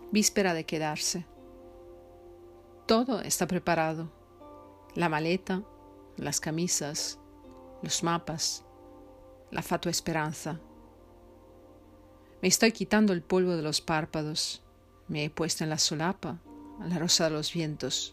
Víspera de quedarse. Todo está preparado. La maleta, las camisas, los mapas, la fatua esperanza. Me estoy quitando el polvo de los párpados. Me he puesto en la solapa, la rosa de los vientos.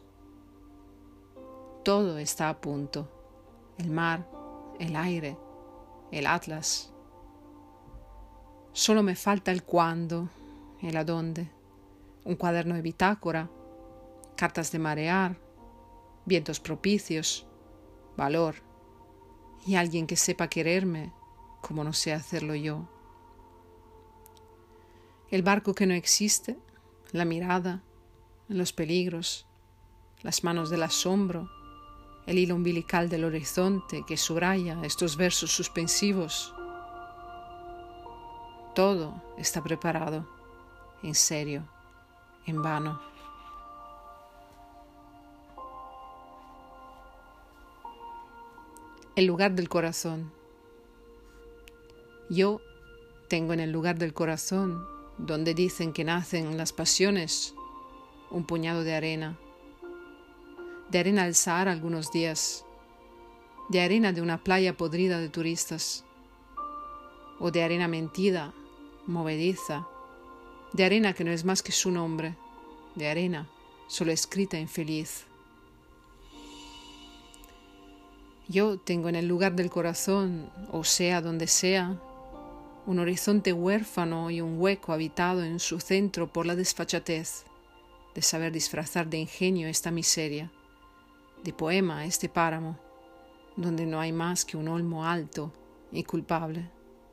Todo está a punto. El mar, el aire, el atlas. Solo me falta el cuándo, el adónde. Un cuaderno de bitácora, cartas de marear, vientos propicios, valor y alguien que sepa quererme como no sé hacerlo yo. El barco que no existe, la mirada, los peligros, las manos del asombro, el hilo umbilical del horizonte que subraya estos versos suspensivos. Todo está preparado, en serio, en vano. El lugar del corazón. Yo tengo en el lugar del corazón, donde dicen que nacen las pasiones, un puñado de arena del Sahara algunos días, de arena de una playa podrida de turistas, o de arena mentida, movediza, de arena que no es más que su nombre, de arena solo escrita infeliz. Yo tengo en el lugar del corazón, o sea donde sea, un horizonte huérfano y un hueco habitado en su centro por la desfachatez de saber disfrazar de ingenio esta miseria, de poema este páramo, donde no hay más que un olmo alto y culpable.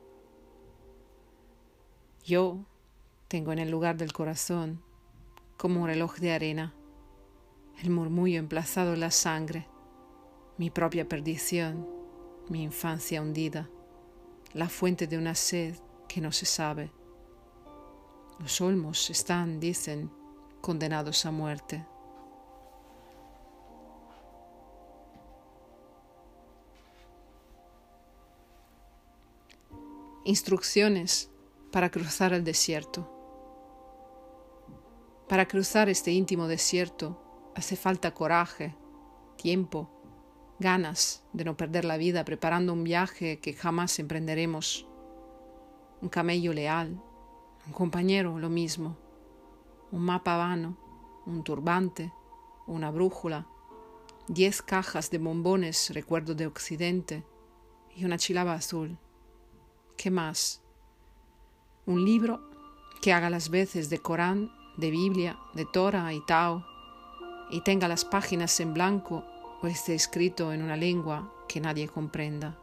Yo tengo en el lugar del corazón, como un reloj de arena, el murmullo emplazado en la sangre, mi propia perdición, mi infancia hundida, la fuente de una sed que no se sabe. Los olmos están, dicen, condenados a muerte. Instrucciones para cruzar el desierto. Para cruzar este íntimo desierto hace falta coraje, tiempo, ganas de no perder la vida preparando un viaje que jamás emprenderemos. Un camello leal, un compañero lo mismo, un mapa vano, un turbante, una brújula, 10 cajas de bombones recuerdo de Occidente y una chilaba azul. ¿Qué más? Un libro que haga las veces de Corán, de Biblia, de Torah y Tao y tenga las páginas en blanco o esté escrito en una lengua que nadie comprenda.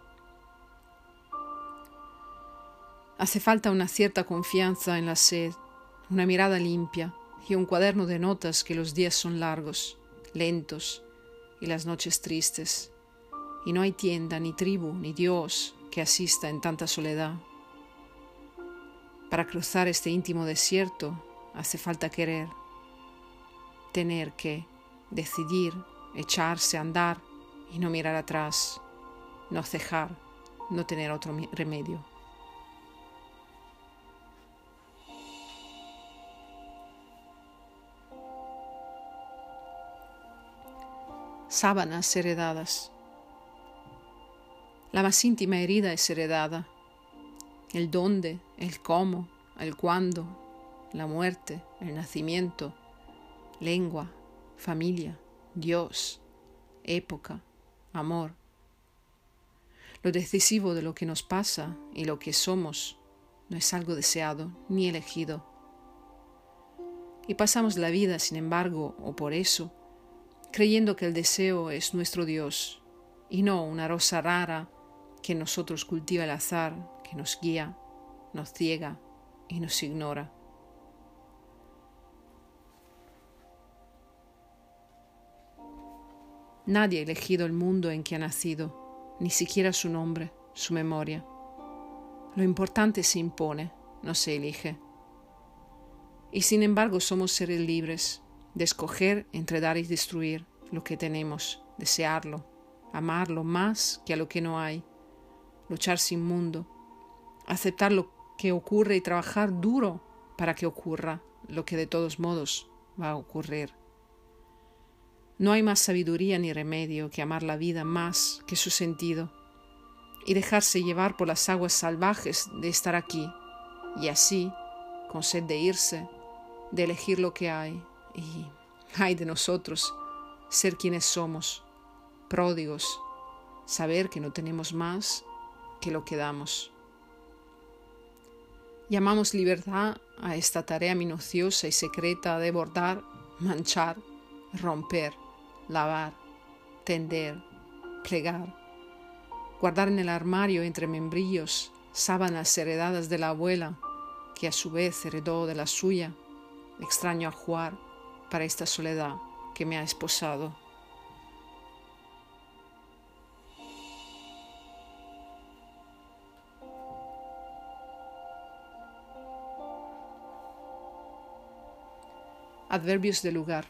Hace falta una cierta confianza en la sed, una mirada limpia y un cuaderno de notas que los días son largos, lentos y las noches tristes, y no hay tienda, ni tribu, ni Dios que asista en tanta soledad. Para cruzar este íntimo desierto hace falta querer, tener que decidir, echarse a andar y no mirar atrás, no cejar, no tener otro remedio. Sábanas heredadas. La más íntima herida es heredada. El dónde, el cómo, el cuándo, la muerte, el nacimiento, lengua, familia, Dios, época, amor. Lo decisivo de lo que nos pasa y lo que somos no es algo deseado ni elegido. Y pasamos la vida, sin embargo, o por eso, creyendo que el deseo es nuestro Dios y no una rosa rara que en nosotros cultiva el azar, que nos guía, nos ciega y nos ignora. Nadie ha elegido el mundo en que ha nacido, ni siquiera su nombre, su memoria. Lo importante se impone, no se elige. Y sin embargo somos seres libres de escoger entre dar y destruir lo que tenemos, desearlo, amarlo más que a lo que no hay, luchar sin mundo, aceptar lo que ocurre y trabajar duro para que ocurra, lo que de todos modos va a ocurrir. No hay más sabiduría ni remedio que amar la vida más que su sentido y dejarse llevar por las aguas salvajes de estar aquí y así, con sed de irse, de elegir lo que hay y, ay de nosotros, ser quienes somos, pródigos, saber que no tenemos más que lo que damos. Llamamos libertad a esta tarea minuciosa y secreta de bordar, manchar, romper, lavar, tender, plegar, guardar en el armario entre membrillos sábanas heredadas de la abuela, que a su vez heredó de la suya, extraño ajuar para esta soledad que me ha esposado. Adverbios de lugar.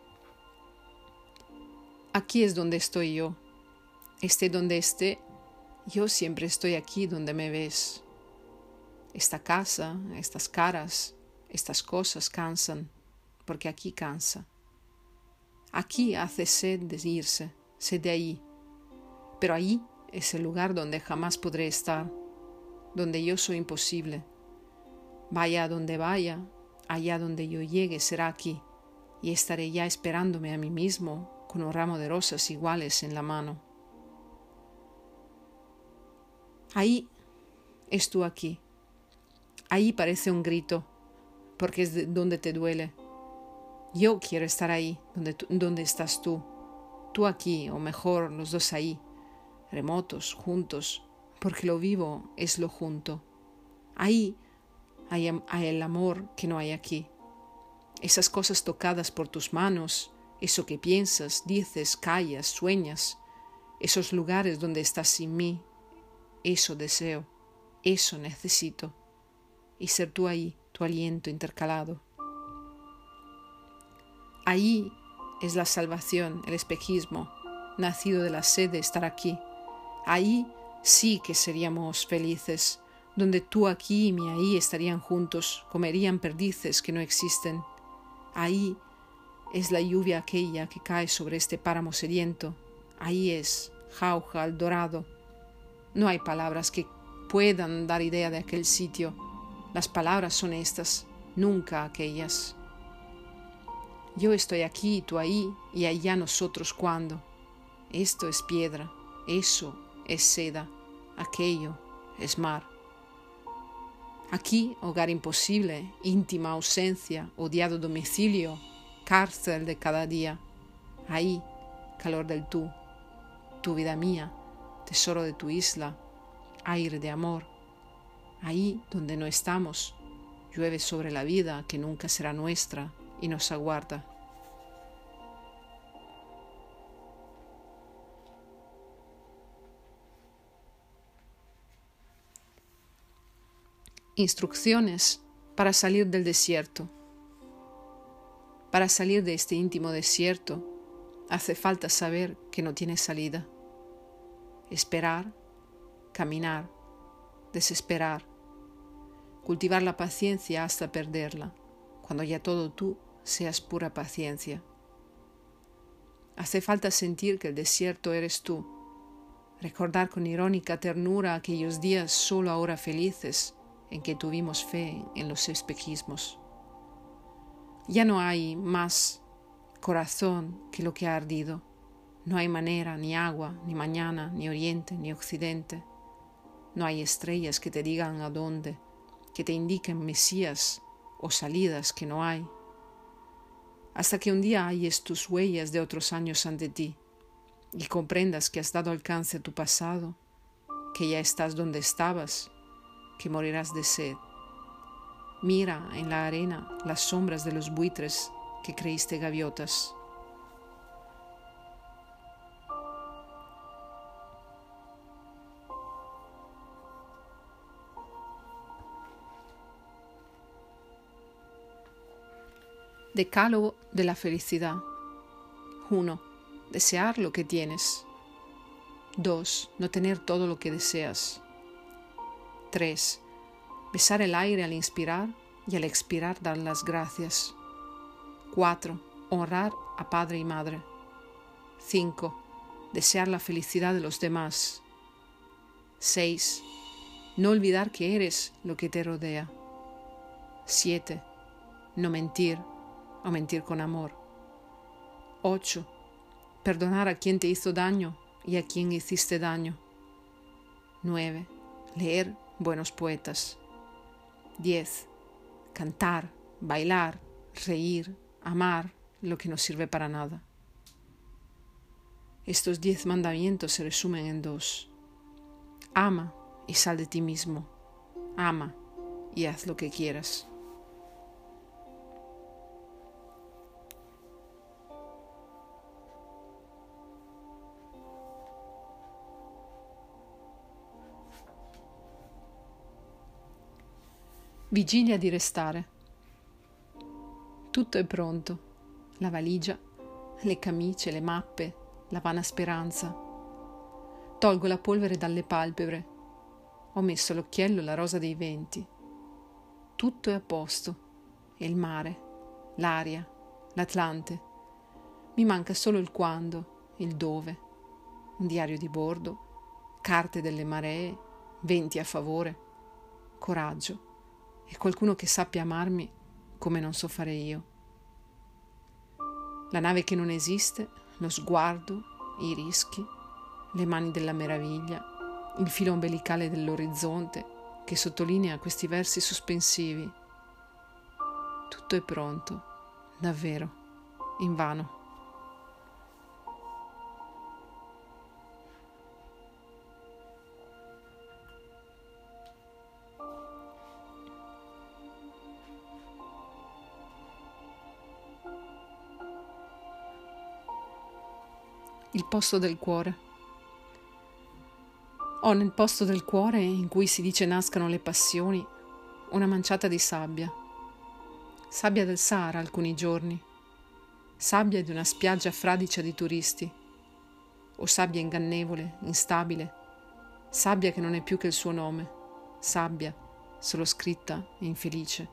Aquí es donde estoy yo. Esté donde esté, yo siempre estoy aquí donde me ves. Esta casa, estas caras, estas cosas cansan, porque aquí cansa. Aquí hace sed de irse, sed de allí. Pero allí es el lugar donde jamás podré estar, donde yo soy imposible. Vaya a donde vaya, allá donde yo llegue será aquí, y estaré ya esperándome a mí mismo con un ramo de rosas iguales en la mano. Ahí es tú aquí. Ahí parece un grito, porque es donde te duele. Yo quiero estar ahí, donde estás tú. Tú aquí, o mejor, los dos ahí, remotos, juntos, porque lo vivo es lo junto. Ahí hay el amor que no hay aquí. Esas cosas tocadas por tus manos, eso que piensas, dices, callas, sueñas, esos lugares donde estás sin mí, eso deseo, eso necesito. Y ser tú ahí, tu aliento intercalado. Ahí es la salvación, el espejismo, nacido de la sed de estar aquí. Ahí sí que seríamos felices, donde tú aquí y mi ahí estarían juntos, comerían perdices que no existen. Ahí es la lluvia aquella que cae sobre este páramo sediento. Ahí es jauja al dorado. No hay palabras que puedan dar idea de aquel sitio. Las palabras son estas, nunca aquellas. Yo estoy aquí, tú ahí, y allá nosotros cuando. Esto es piedra, eso es seda, aquello es mar. Aquí, hogar imposible, íntima ausencia, odiado domicilio, cárcel de cada día. Ahí, calor del tú, tu vida mía, tesoro de tu isla, aire de amor. Ahí donde no estamos, llueve sobre la vida que nunca será nuestra y nos aguarda. Instrucciones para salir del desierto. Para salir de este íntimo desierto, hace falta saber que no tiene salida. Esperar, caminar, desesperar, cultivar la paciencia hasta perderla, cuando ya todo tú seas pura paciencia. Hace falta sentir que el desierto eres tú, recordar con irónica ternura aquellos días solo ahora felices en que tuvimos fe en los espejismos. Ya no hay más corazón que lo que ha ardido. No hay manera, ni agua, ni mañana, ni oriente, ni occidente. No hay estrellas que te digan a dónde, que te indiquen mesías o salidas que no hay. Hasta que un día halles tus huellas de otros años ante ti y comprendas que has dado alcance a tu pasado, que ya estás donde estabas, que morirás de sed. Mira en la arena las sombras de los buitres que creíste gaviotas. Decálogo de la felicidad. 1. Desear lo que tienes. 2. No tener todo lo que deseas. 3. Besar el aire al inspirar y al expirar dar las gracias. 4. Honrar a padre y madre. 5. Desear la felicidad de los demás. 6. No olvidar que eres lo que te rodea. 7. No mentir o mentir con amor. 8. Perdonar a quien te hizo daño y a quien hiciste daño. 9. Leer buenos poetas. 10. Cantar, bailar, reír, amar lo que no sirve para nada. Estos 10 mandamientos se resumen en 2. Ama y sal de ti mismo. Ama y haz lo que quieras. Vigilia di restare. Tutto è pronto. La valigia, le camicie, le mappe, la vana speranza. Tolgo la polvere dalle palpebre. Ho messo l'occhiello e la rosa dei venti. Tutto è a posto. E il mare, l'aria, l'Atlante. Mi manca solo il quando, il dove. Un diario di bordo, carte delle maree, venti a favore, coraggio e qualcuno che sappia amarmi come non so fare io. La nave che non esiste, lo sguardo, i rischi, le mani della meraviglia, il filo ombelicale dell'orizzonte che sottolinea questi versi sospensivi. Tutto è pronto, davvero, invano. Il posto del cuore. Ho nel posto del cuore in cui si dice nascano le passioni una manciata di sabbia. Sabbia del Sahara alcuni giorni, sabbia di una spiaggia fradicia di turisti, o sabbia ingannevole, instabile, sabbia che non è più che il suo nome, sabbia solo scritta e infelice.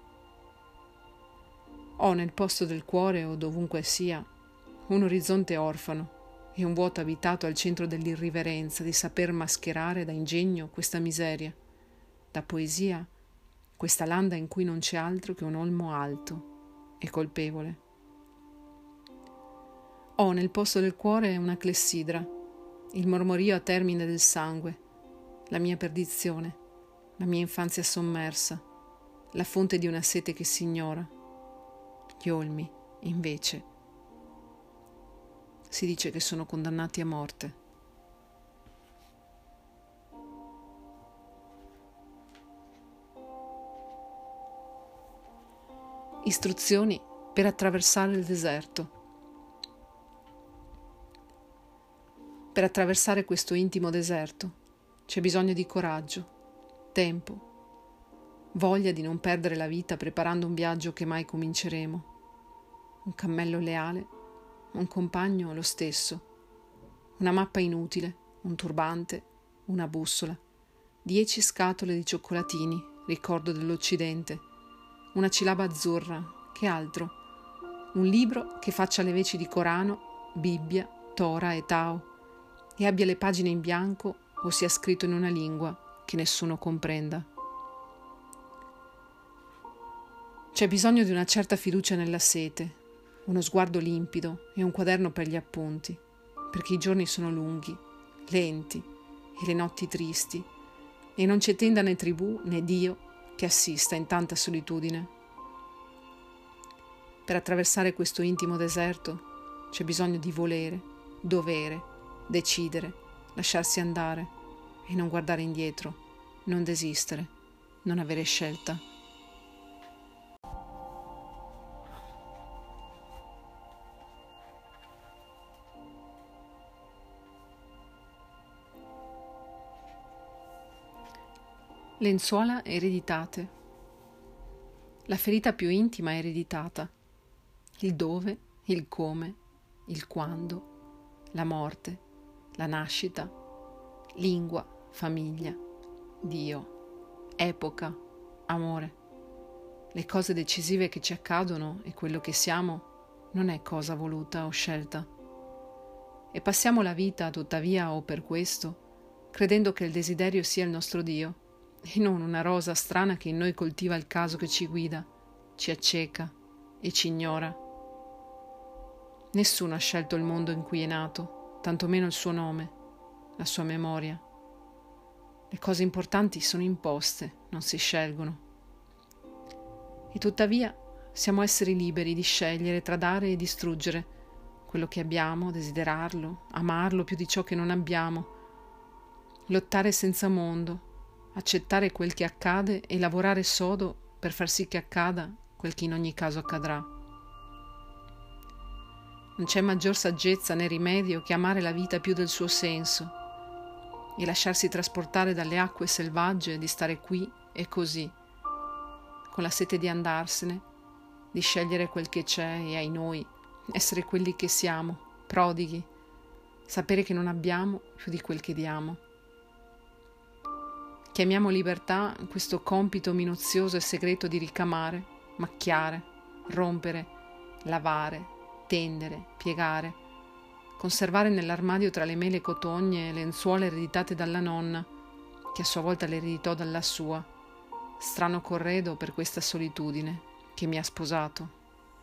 Ho nel posto del cuore o dovunque sia un orizzonte orfano e un vuoto abitato al centro dell'irriverenza di saper mascherare da ingegno questa miseria, da poesia questa landa in cui non c'è altro che un olmo alto e colpevole. Ho nel posto del cuore una clessidra, il mormorio a termine del sangue, la mia perdizione, la mia infanzia sommersa, la fonte di una sete che si ignora. Gli olmi, invece, si dice che sono condannati a morte. Istruzioni per attraversare il deserto. Per attraversare questo intimo deserto c'è bisogno di coraggio, tempo, voglia di non perdere la vita preparando un viaggio che mai cominceremo, un cammello leale, un compagno lo stesso, una mappa inutile, un turbante, una bussola, 10 scatole di cioccolatini, ricordo dell'Occidente, una cilaba azzurra, che altro? Un libro che faccia le veci di Corano, Bibbia, Tora e Tao, e abbia le pagine in bianco o sia scritto in una lingua che nessuno comprenda. C'è bisogno di una certa fiducia nella sete, uno sguardo limpido e un quaderno per gli appunti, perché i giorni sono lunghi, lenti e le notti tristi, e non c'è tenda né tribù né Dio che assista in tanta solitudine. Per attraversare questo intimo deserto c'è bisogno di volere, dovere, decidere, lasciarsi andare e non guardare indietro, non desistere, non avere scelta. Lenzuola ereditate. La ferita più intima è ereditata. Il dove, il come, il quando, la morte, la nascita, lingua, famiglia, Dio, epoca, amore. le cose decisive che ci accadono e quello che siamo non è cosa voluta o scelta. E passiamo la vita, tuttavia, o per questo, credendo che il desiderio sia il nostro Dio, e non una rosa strana che in noi coltiva il caso che ci guida, ci acceca e ci ignora. Nessuno ha scelto il mondo in cui è nato, tantomeno il suo nome, la sua memoria. Le cose importanti sono imposte, non si scelgono. E tuttavia siamo esseri liberi di scegliere tra dare e distruggere quello che abbiamo, desiderarlo, amarlo più di ciò che non abbiamo, lottare senza mondo, accettare quel che accade e lavorare sodo per far sì che accada quel che in ogni caso accadrà. Non c'è maggior saggezza né rimedio che amare la vita più del suo senso e lasciarsi trasportare dalle acque selvagge di stare qui e così, con la sete di andarsene, di scegliere quel che c'è e ai noi, essere quelli che siamo, prodighi, sapere che non abbiamo più di quel che diamo. Chiamiamo libertà questo compito minuzioso e segreto di ricamare, macchiare, rompere, lavare, tendere, piegare, conservare nell'armadio tra le mele cotogne lenzuola ereditate dalla nonna, che a sua volta le ereditò dalla sua, strano corredo per questa solitudine che mi ha sposato.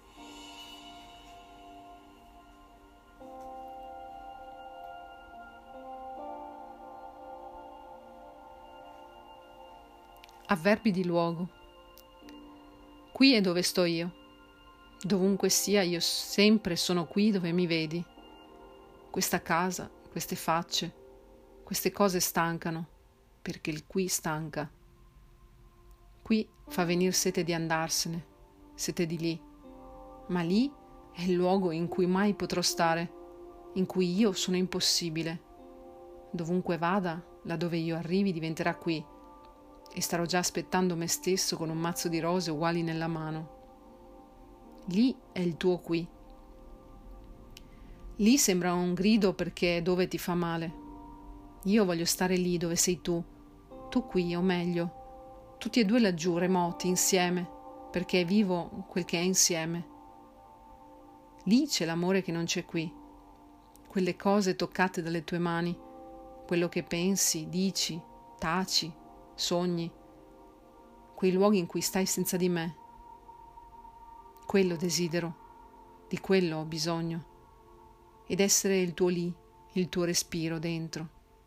Avverbi di luogo. Qui è dove sto io. Dovunque sia, io sempre sono qui dove mi vedi. Questa casa, queste facce, queste cose stancano, perché il qui stanca. Qui fa venir sete di andarsene, sete di lì. Ma lì è il luogo in cui mai potrò stare, in cui io sono impossibile. Dovunque vada, laddove io arrivi diventerà qui, e starò già aspettando me stesso con un mazzo di rose uguali nella mano. Lì è il tuo qui. Lì sembra un grido perché è dove ti fa male. Io voglio stare lì dove sei tu qui, o meglio, tutti e due laggiù, remoti, insieme, perché è vivo quel che è insieme. Lì c'è l'amore che non c'è qui, quelle cose toccate dalle tue mani, quello che pensi, dici, taci, sogni, quei luoghi in cui stai senza di me. Quello desidero, di quello ho bisogno, ed essere il tuo lì, il tuo respiro dentro.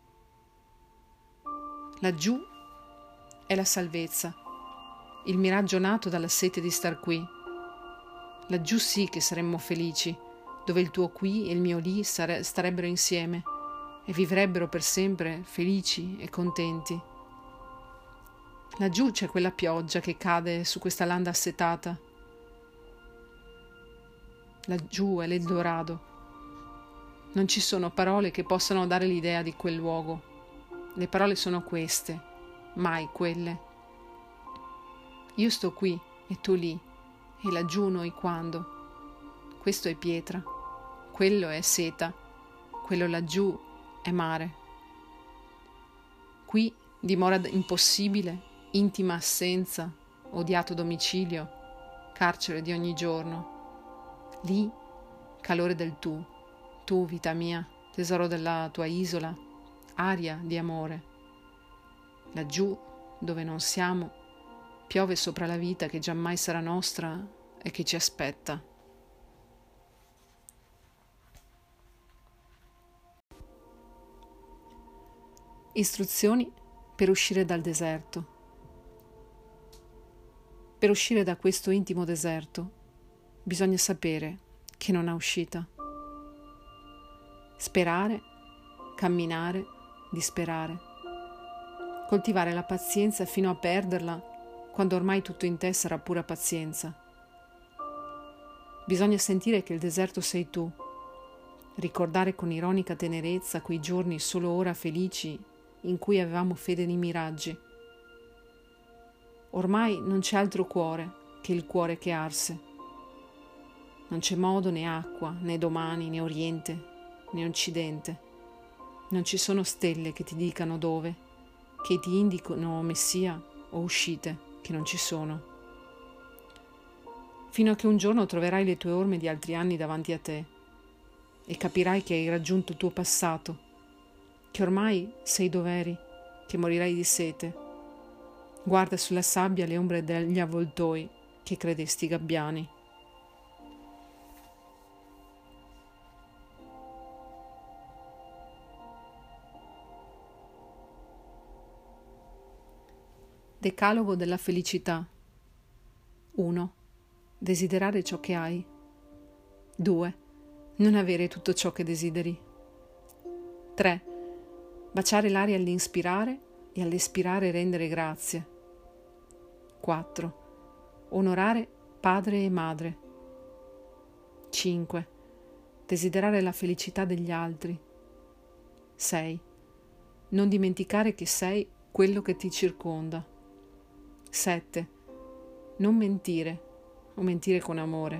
Laggiù è la salvezza, il miraggio nato dalla sete di star qui. Laggiù sì che saremmo felici, dove il tuo qui e il mio lì starebbero insieme e vivrebbero per sempre felici e contenti. Laggiù c'è quella pioggia che cade su questa landa assetata. Laggiù è l'Eldorado. Non ci sono parole che possano dare l'idea di quel luogo. Le parole sono queste, mai quelle. Io sto qui e tu lì, e laggiù noi quando. Questo è pietra, quello è seta, quello laggiù è mare. Qui dimora impossibile, intima assenza, odiato domicilio, carcere di ogni giorno. Lì, calore del tu, vita mia, tesoro della tua isola, aria di amore. Laggiù, dove non siamo, piove sopra la vita che giammai sarà nostra e che ci aspetta. Istruzioni per uscire dal deserto. Per uscire da questo intimo deserto bisogna sapere che non ha uscita. Sperare, camminare, disperare. Coltivare la pazienza fino a perderla quando ormai tutto in te sarà pura pazienza. Bisogna sentire che il deserto sei tu, ricordare con ironica tenerezza quei giorni solo ora felici in cui avevamo fede nei miraggi. Ormai non c'è altro cuore che il cuore che arse. Non c'è modo né acqua, né domani, né oriente, né occidente. Non ci sono stelle che ti dicano dove, che ti indicano messia o uscite che non ci sono. fino a che un giorno troverai le tue orme di altri anni davanti a te e capirai che hai raggiunto il tuo passato, che ormai sei dov'eri, che morirai di sete. Guarda sulla sabbia le ombre degli avvoltoi che credesti gabbiani. Decalogo della felicità. 1. Desiderare ciò che hai. 2. Non avere tutto ciò che desideri. 3. Baciare l'aria all'inspirare e all'espirare rendere grazie. 4. Onorare padre e madre. 5. Desiderare la felicità degli altri. 6. Non dimenticare che sei quello che ti circonda. 7. Non mentire o mentire con amore.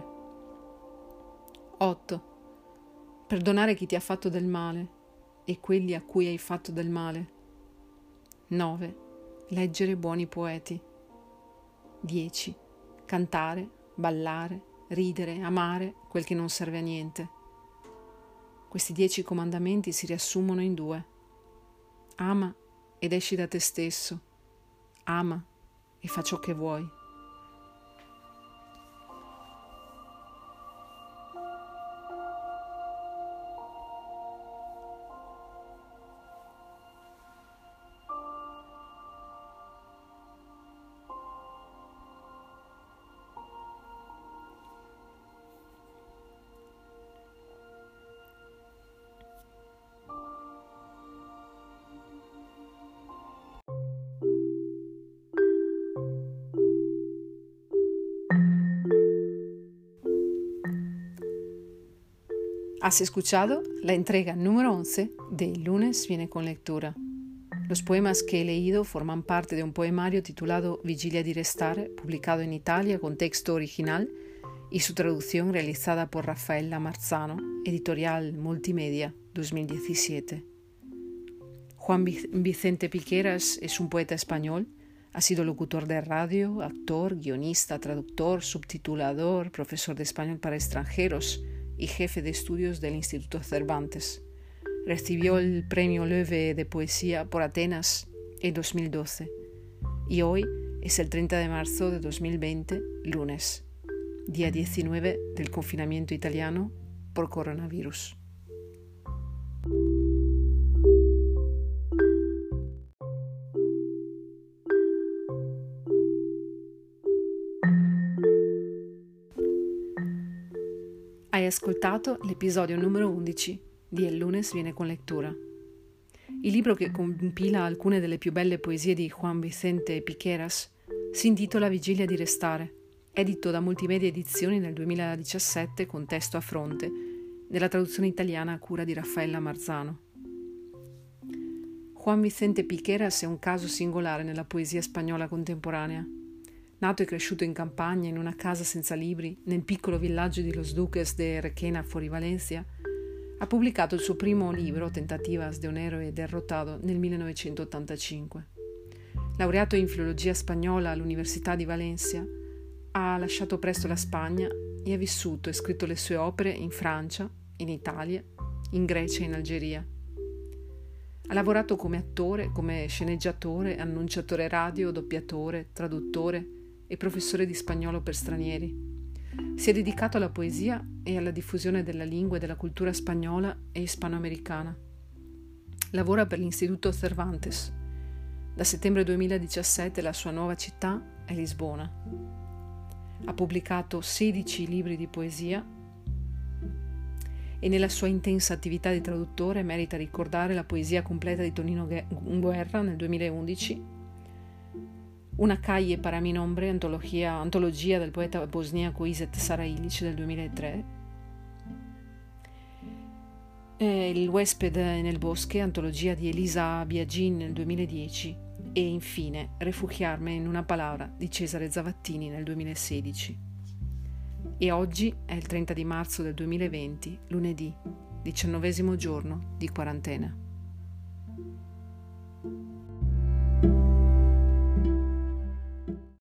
8. Perdonare chi ti ha fatto del male e quelli a cui hai fatto del male. 9. Leggere buoni poeti. 10. Cantare, ballare, ridere, amare quel che non serve a niente. Questi 10 comandamenti si riassumono in 2. Ama ed esci da te stesso. Ama e fa ciò che vuoi. Has escuchado la entrega número 11 de El lunes viene con lectura. Los poemas que he leído forman parte de un poemario titulado Vigilia di Restare, publicado en Italia con texto original y su traducción realizada por Raffaella Marzano, editorial Multimedia 2017. Juan Vicente Piqueras es un poeta español. Ha sido locutor de radio, actor, guionista, traductor, subtitulador, profesor de español para extranjeros y jefe de estudios del Instituto Cervantes. Recibió el Premio Loewe de Poesía por Atenas en 2012 y hoy es el 30 de marzo de 2020, lunes, día 19 del confinamiento italiano por coronavirus. Hai ascoltato l'episodio numero 11 di El lunes viene con lectura. Il libro che compila alcune delle più belle poesie di Juan Vicente Piqueras si intitola Vigilia di Restare, edito da Multimedia Edizioni nel 2017 con testo a fronte, nella traduzione italiana a cura di Raffaella Marzano. Juan Vicente Piqueras è un caso singolare nella poesia spagnola contemporanea. Nato e cresciuto in campagna, in una casa senza libri, nel piccolo villaggio di Los Duques de Requena fuori Valencia, ha pubblicato il suo primo libro, Tentativas de un héroe derrotado, nel 1985. Laureato in filologia spagnola all'Università di Valencia, ha lasciato presto la Spagna e ha vissuto e scritto le sue opere in Francia, in Italia, in Grecia e in Algeria. Ha lavorato come attore, come sceneggiatore, annunciatore radio, doppiatore, traduttore e professore di spagnolo per stranieri. Si è dedicato alla poesia e alla diffusione della lingua e della cultura spagnola e ispanoamericana. Lavora per l'Istituto Cervantes. Da settembre 2017 la sua nuova città è Lisbona. Ha pubblicato 16 libri di poesia e nella sua intensa attività di traduttore merita ricordare la poesia completa di Tonino Guerra nel 2011, Una calle para mi nombre, antologia del poeta bosniaco Iset Sarailic del 2003, Il huésped nel bosque, antologia di Elisa Biagin nel 2010 e infine Refugiarme in una palabra di Cesare Zavattini nel 2016. E oggi è il 30 di marzo del 2020, lunedì, 19° giorno di quarantena.